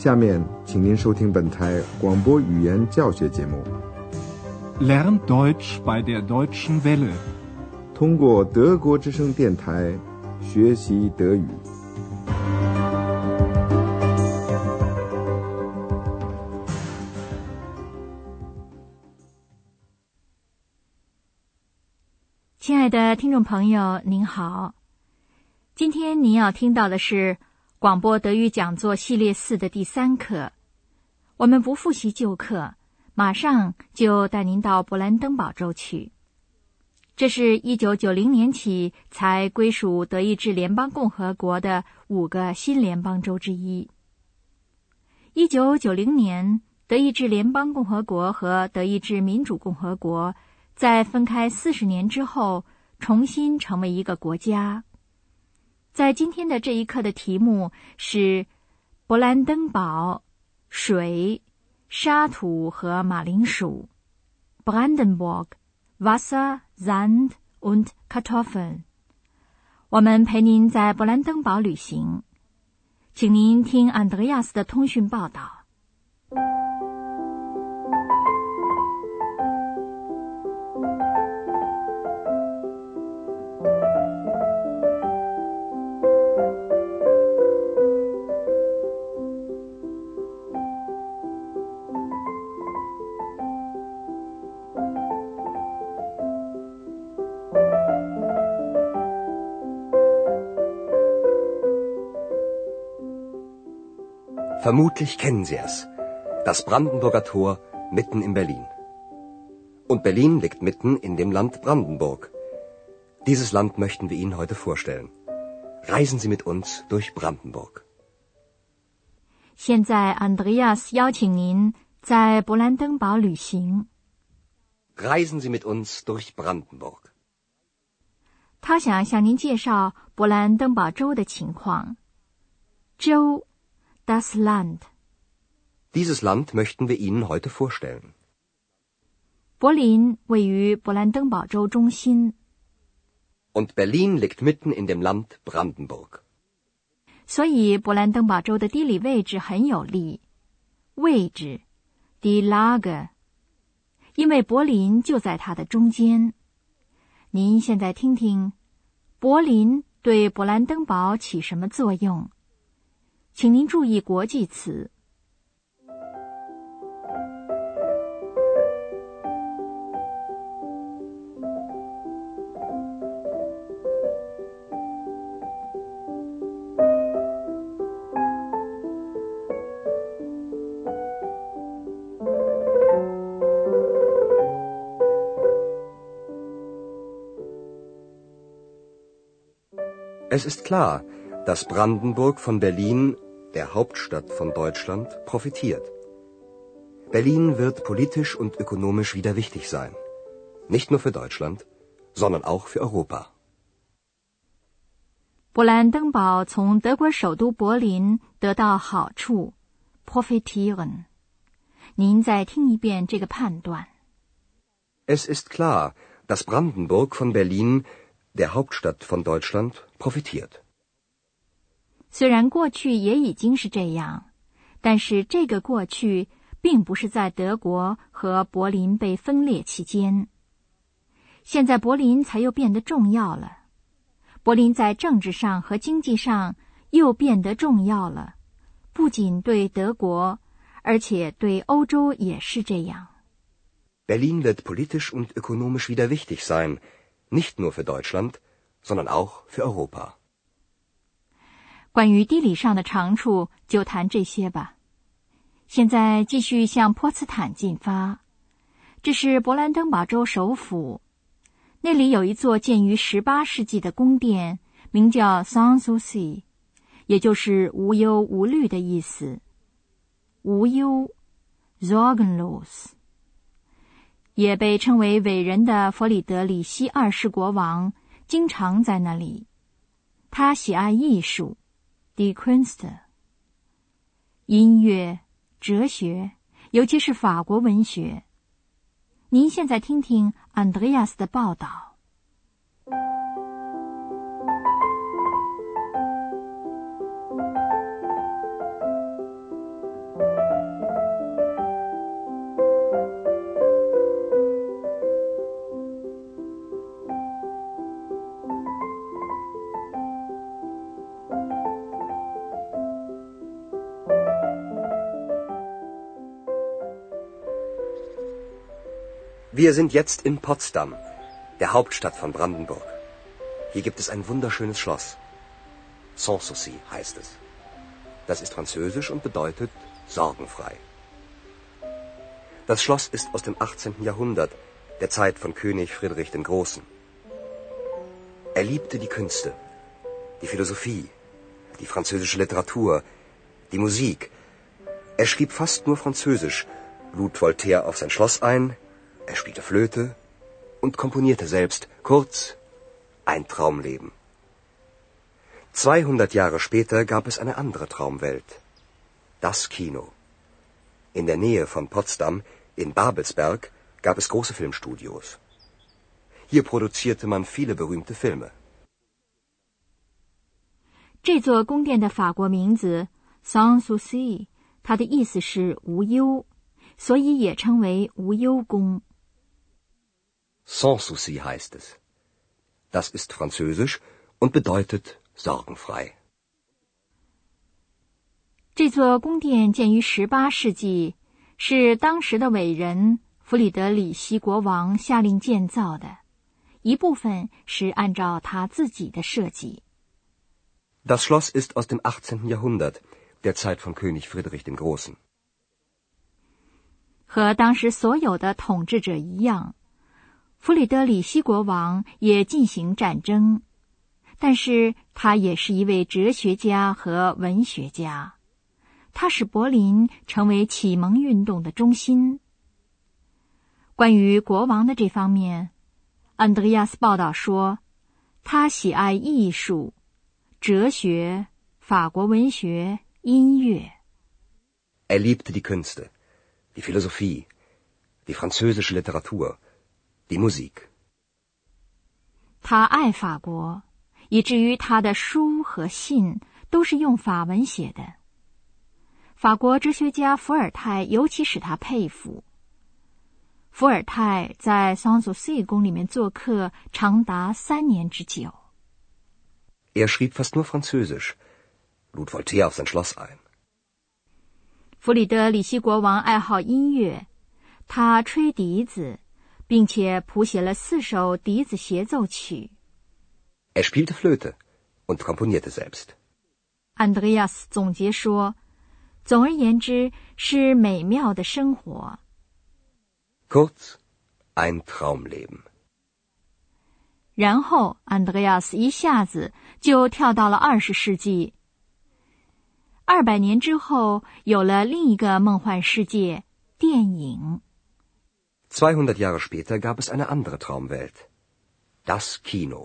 下面，请您收听本台广播语言教学节目。 Lern Deutsch bei der Deutschen Welle。 通过德国之声电台学习德语。 亲爱的听众朋友，您好。今天您要听到的是广播德语讲座系列4的第3课。我们不复习旧课，马上就带您到勃兰登堡州去。这是1990年起才归属德意志联邦共和国的5个新联邦州之一。1990年，德意志联邦共和国和德意志民主共和国在分开40年之后，重新成为一个国家。在今天的这一课的题目是勃兰登堡、水、沙土和马铃薯 Brandenburg, Wasser, Sand und Kartoffeln。 我们陪您在勃兰登堡旅行，请您听安德烈亚斯的通讯报道。 Vermutlich kennen Sie es. Das Brandenburger Tor mitten in Berlin. Und Berlin liegt mitten in dem Land Brandenburg. Dieses Land möchten wir Ihnen heute vorstellen. Reisen Sie mit uns durch Brandenburg. 现在 Andreas 邀请您在勃兰登堡旅行。 Reisen Sie mit uns durch Brandenburg. 他想向您介绍勃兰登堡州的情况。州 Das Land。 Dieses Land möchten wir Ihnen heute vorstellen. 柏林位于勃兰登堡州中心。 Und Berlin liegt mitten in dem Land Brandenburg. 所以勃兰登堡州的地理位置很有利。位置 Die Lage， 因为柏林就在它的中间。您现在听听，柏林对勃兰登堡起什么作用？请您注意国际词。 Es ist klar, dass Brandenburg von Berlin, der Hauptstadt von Deutschland, profitiert. Berlin wird politisch und ökonomisch wieder wichtig sein. Nicht nur für Deutschland, sondern auch für Europa. 勃兰登堡从德国首都柏林得到好处 profitieren。 您再听一遍这个判断。 Es ist klar, dass Brandenburg von Berlin, der Hauptstadt von Deutschland, profitiert. 虽然过去也已经是这样，但是这个过去并不是在德国和柏林被分裂期间。现在柏林才又变得重要了，柏林在政治上和经济上又变得重要了，不仅对德国，而且对欧洲也是这样。 Berlin wird politisch und ökonomisch wieder wichtig sein, nicht nur für Deutschland, sondern auch für Europa. 关于地理上的长处，就谈这些吧。现在继续向波茨坦进发，这是勃兰登堡州首府。那里有一座建于18世纪的宫殿，名叫 Sans Souci， 也就是无忧无虑的意思。无忧 Sorgenlos， 也被称为伟人的弗里德里希2世国王经常在那里。他喜爱艺术 Die Künste， 音乐、哲学，尤其是法国文学。您现在听听安德烈亚斯的报道。 Wir sind jetzt in Potsdam, der Hauptstadt von Brandenburg. Hier gibt es ein wunderschönes Schloss. Sanssouci heißt es. Das ist französisch und bedeutet sorgenfrei. Das Schloss ist aus dem 18. Jahrhundert, der Zeit von König Friedrich dem Großen. Er liebte die Künste, die Philosophie, die französische Literatur, die Musik. Er schrieb fast nur Französisch, lud Voltaire auf sein Schloss ein, er spielte Flöte und komponierte selbst. Kurz, ein Traumleben. 200 Jahre später gab es eine andere Traumwelt. Das Kino. In der Nähe von Potsdam, in Babelsberg, gab es große Filmstudios. Hier produzierte man viele berühmte Filme. 这座宫殿的法国名字 Sanssouci， 它的意思是无忧，所以也称为无忧宫。 Sanssouci heißt es. Das ist französisch und bedeutet sorgenfrei. 这座宫殿建于18世纪，是当时的伟人弗里德里希国王下令建造的，一部分是按照他自己的设计。 Das Schloss ist aus dem 18. Jahrhundert, der Zeit von König Friedrich dem Großen. 和当时所有的统治者一样，弗里德里希国王也进行战争，但是他也是一位哲学家和文学家。他使柏林成为启蒙运动的中心。关于国王的这方面，安德烈亚斯报道说，他喜爱艺术、哲学、法国文学、音乐。 Er liebte die Künste, die Philosophie, die französische Literatur, die Musik. 他爱法国，以至于他的书和信都是用法文写的。法国哲学家伏尔泰尤其使他佩服。伏尔泰在桑索西宫里面做客长达3年之久。 Er schrieb fast nur Französisch, lud Voltaire auf sein Schloss ein. 弗里德里希国王爱好音乐，他吹笛子，并且谱写了4首笛子协奏曲。 Er spielte Flöte und komponierte selbst. 安德烈亚斯总结说，总而言之是美妙的生活。 Kurz, ein Traumleben. 然后安德烈亚斯一下子就跳到了20世纪。200年之后，有了另一个梦幻世界——电影。 200 Jahre später gab es eine andere Traumwelt. Das Kino.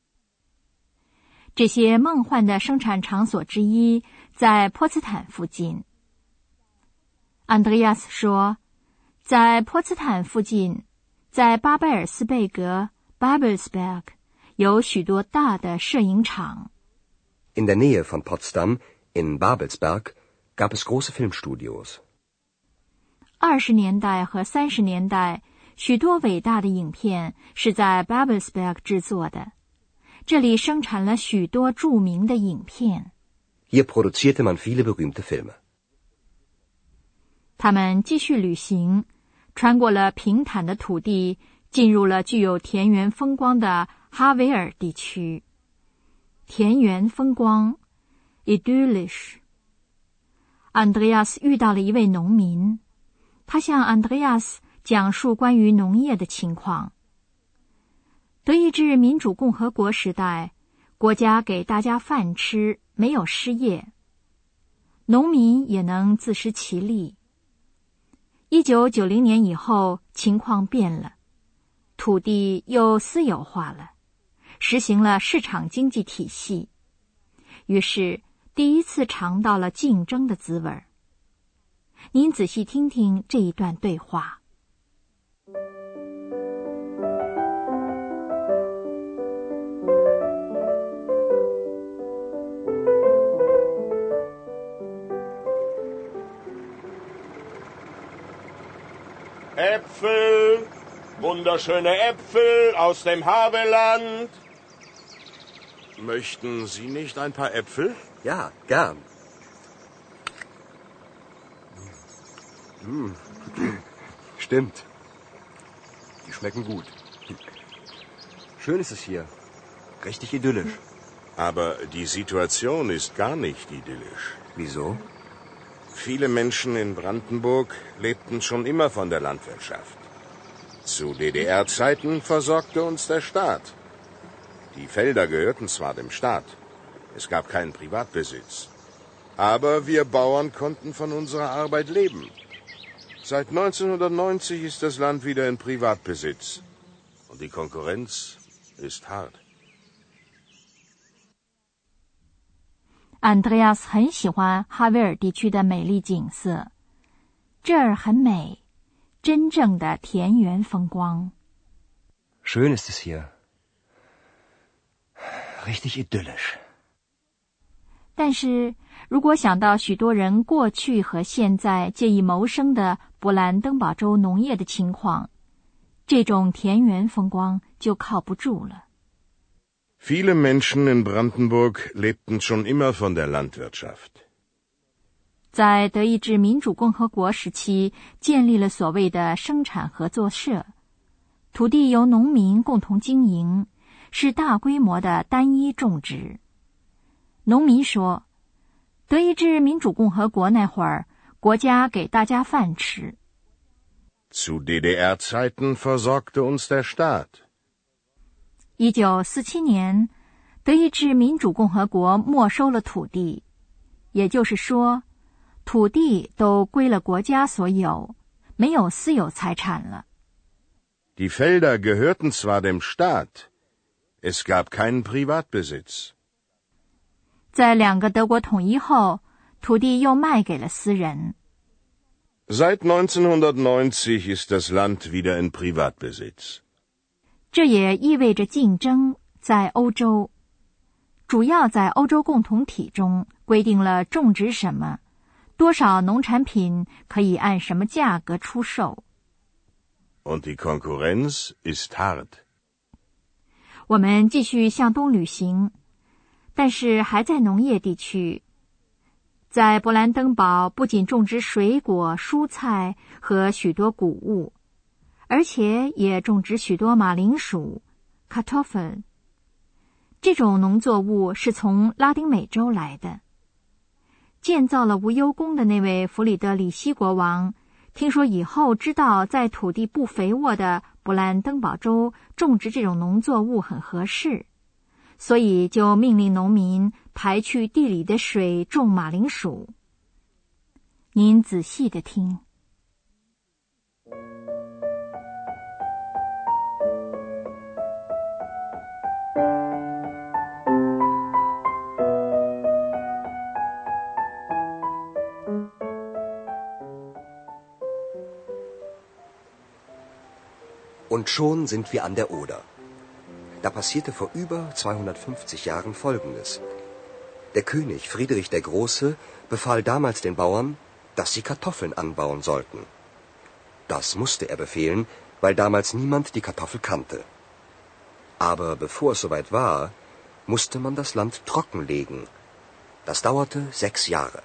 这些梦幻的生产场所之一在波茨坦附近。安德烈亚斯说，在波茨坦附近，在巴贝尔斯贝格 Babelsberg 有许多大的摄影厂。 In der Nähe von Potsdam, in Babelsberg, gab es große Filmstudios. 20年代和30年代，许多伟大的影片是在 Babelsberg 制作的。这里生产了许多著名的影片。 Hier produzierte man viele berühmte Filme. 他们继续旅行，穿过了平坦的土地，进入了具有田园风光的哈维尔地区。田园风光 idyllisch。 安德烈亚斯遇到了一位农民，他向安德烈亚斯讲述关于农业的情况。德意志民主共和国时代，国家给大家饭吃，没有失业，农民也能自食其力。1990年以后，情况变了，土地又私有化了，实行了市场经济体系，于是第一次尝到了竞争的滋味。您仔细听听这一段对话。 Äpfel, wunderschöne Äpfel aus dem Havelland. Möchten Sie nicht ein paar Äpfel? Ja, gern. Stimmt. schmecken gut. Schön ist es hier. Richtig idyllisch. Aber die Situation ist gar nicht idyllisch. Wieso? Viele Menschen in Brandenburg lebten schon immer von der Landwirtschaft. Zu DDR-Zeiten versorgte uns der Staat. Die Felder gehörten zwar dem Staat, es gab keinen Privatbesitz. Aber wir Bauern konnten von unserer Arbeit leben. Seit 1990 ist das Land wieder in Privatbesitz. Und die Konkurrenz ist hart. Andreas 很喜欢哈维尔地区的美丽景色，这儿很美，真正的田园风光。 Schön ist es hier. Richtig idyllisch. 但是如果想到许多人过去和现在借以谋生的勃兰登堡州农业的情况，这种田园风光就靠不住了。 Viele Menschen in Brandenburg lebten schon immer von der Landwirtschaft. 在德意志民主共和国时期，建立了所谓的生产合作社，土地由农民共同经营，是大规模的单一种植。农民说，德意志民主共和国那会儿，国家给大家饭吃。 Zu DDR-Zeiten versorgte uns der Staat. 1947年，德意志民主共和国没收了土地，也就是说，土地都归了国家所有，没有私有财产了。 Die Felder gehörten zwar dem Staat, es gab keinen Privatbesitz. 在两个德国统一后，土地又卖给了私人。 Seit 1990 ist das Land wieder in Privatbesitz. 这也意味着竞争在欧洲，主要在欧洲共同体中规定了种植什么，多少农产品可以按什么价格出售。 Und die Konkurrenz ist hart. 我们继续向东旅行，但是还在农业地区。在勃兰登堡不仅种植水果、蔬菜和许多谷物，而且也种植许多马铃薯 Kartoffeln。 这种农作物是从拉丁美洲来的。建造了无忧宫的那位弗里德里希国王，听说以后知道在土地不肥沃的勃兰登堡州种植这种农作物很合适，所以就命令农民排去地里的水种马铃薯。您仔细地听。 Und schon sind wir an der Oder. Da passierte vor über 250 Jahren Folgendes. Der König Friedrich der Große befahl damals den Bauern, dass sie Kartoffeln anbauen sollten. Das musste er befehlen, weil damals niemand die Kartoffel kannte. Aber bevor es soweit war, musste man das Land trockenlegen. Das dauerte 6 Jahre.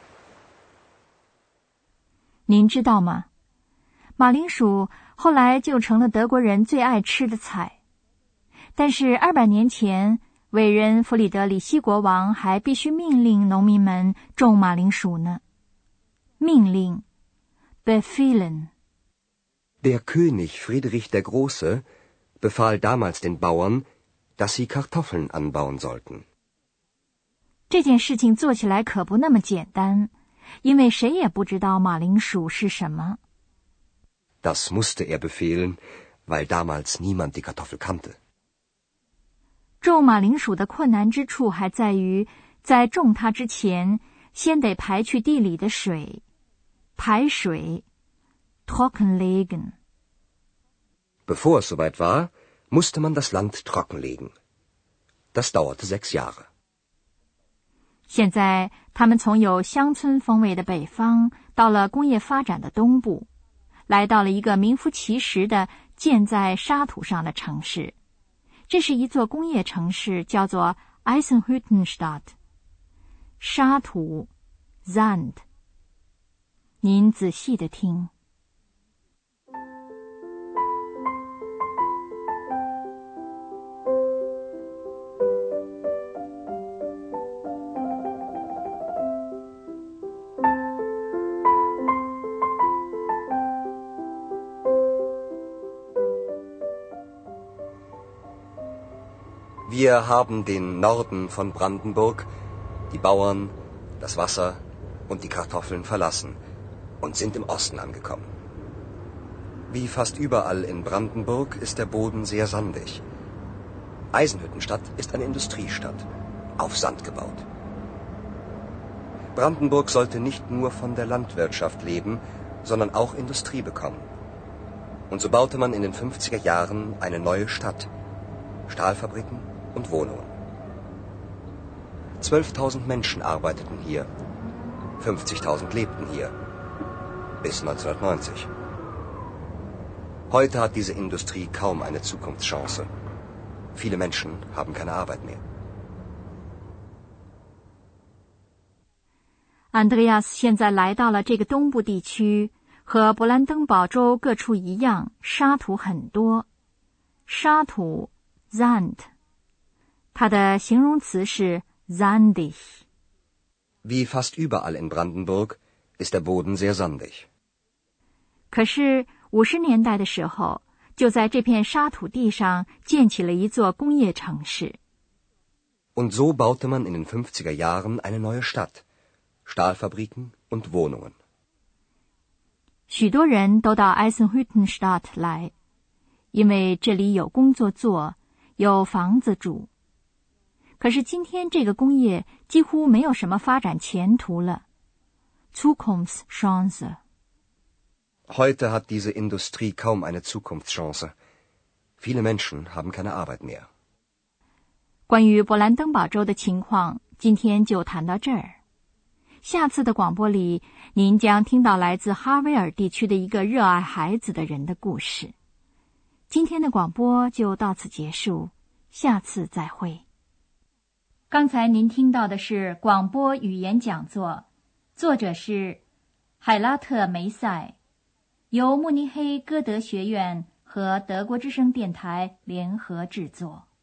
您知道吗？马铃薯后来就成了德国人最爱吃的菜。但是200年前，伟人弗里德里希国王还必须命令农民们种马铃薯呢。命令 befehlen. Der König Friedrich der Große befahl damals den Bauern, dass sie Kartoffeln anbauen sollten. 这件事情做起来可不那么简单，因为谁也不知道马铃薯是什么。 Das musste er befehlen, weil damals niemand die Kartoffel kannte. 种马铃薯的困难之处还在于，在种它之前，先得排去地里的水。排水 trockenlegen. Bevor es soweit war, musste man das Land trockenlegen. Das dauerte 6 Jahre. 现在他们从有乡村风味的北方，到了工业发展的东部，来到了一个名副其实的建在沙土上的城市。这是一座工业城市，叫做 Eisenhüttenstadt。 沙土 Sand。 您仔细地听。 Wir haben den Norden von Brandenburg, die Bauern, das Wasser und die Kartoffeln verlassen und sind im Osten angekommen. Wie fast überall in Brandenburg ist der Boden sehr sandig. Eisenhüttenstadt ist eine Industriestadt, auf Sand gebaut. Brandenburg sollte nicht nur von der Landwirtschaft leben, sondern auch Industrie bekommen. Und so baute man in den 50er Jahren eine neue Stadt, Stahlfabriken und Wohnungen. 12.000 Menschen arbeiteten hier, 50.000 lebten hier, bis 1990. Heute hat diese Industrie kaum eine Zukunftschance. Viele Menschen haben keine Arbeit mehr. Andreas 现在来到了这个东部地区，和勃兰登堡州各处一样，沙土很多。沙土 Sand， 它的形容词是 sandig。 Wie fast überall in Brandenburg ist der Boden sehr sandig. 可是50年代的时候，就在这片沙土地上建起了一座工业城市。 Und so baute man in den 50er Jahren eine neue Stadt, Stahlfabriken und Wohnungen. 许多人都到 Eisenhüttenstadt 来，因为这里有工作做，有房子住。可是今天这个工业几乎没有什么发展前途了。 Zukunftschance。 Heute hat diese Industrie kaum eine Zukunftschance. Viele Menschen haben keine Arbeit mehr. 关于勃兰登堡州的情况，今天就谈到这儿。下次的广播里，您将听到来自哈维尔地区的一个热爱孩子的人的故事。今天的广播就到此结束，下次再会。刚才您听到的是广播语言讲座，作者是海拉特梅塞，由慕尼黑歌德学院和德国之声电台联合制作。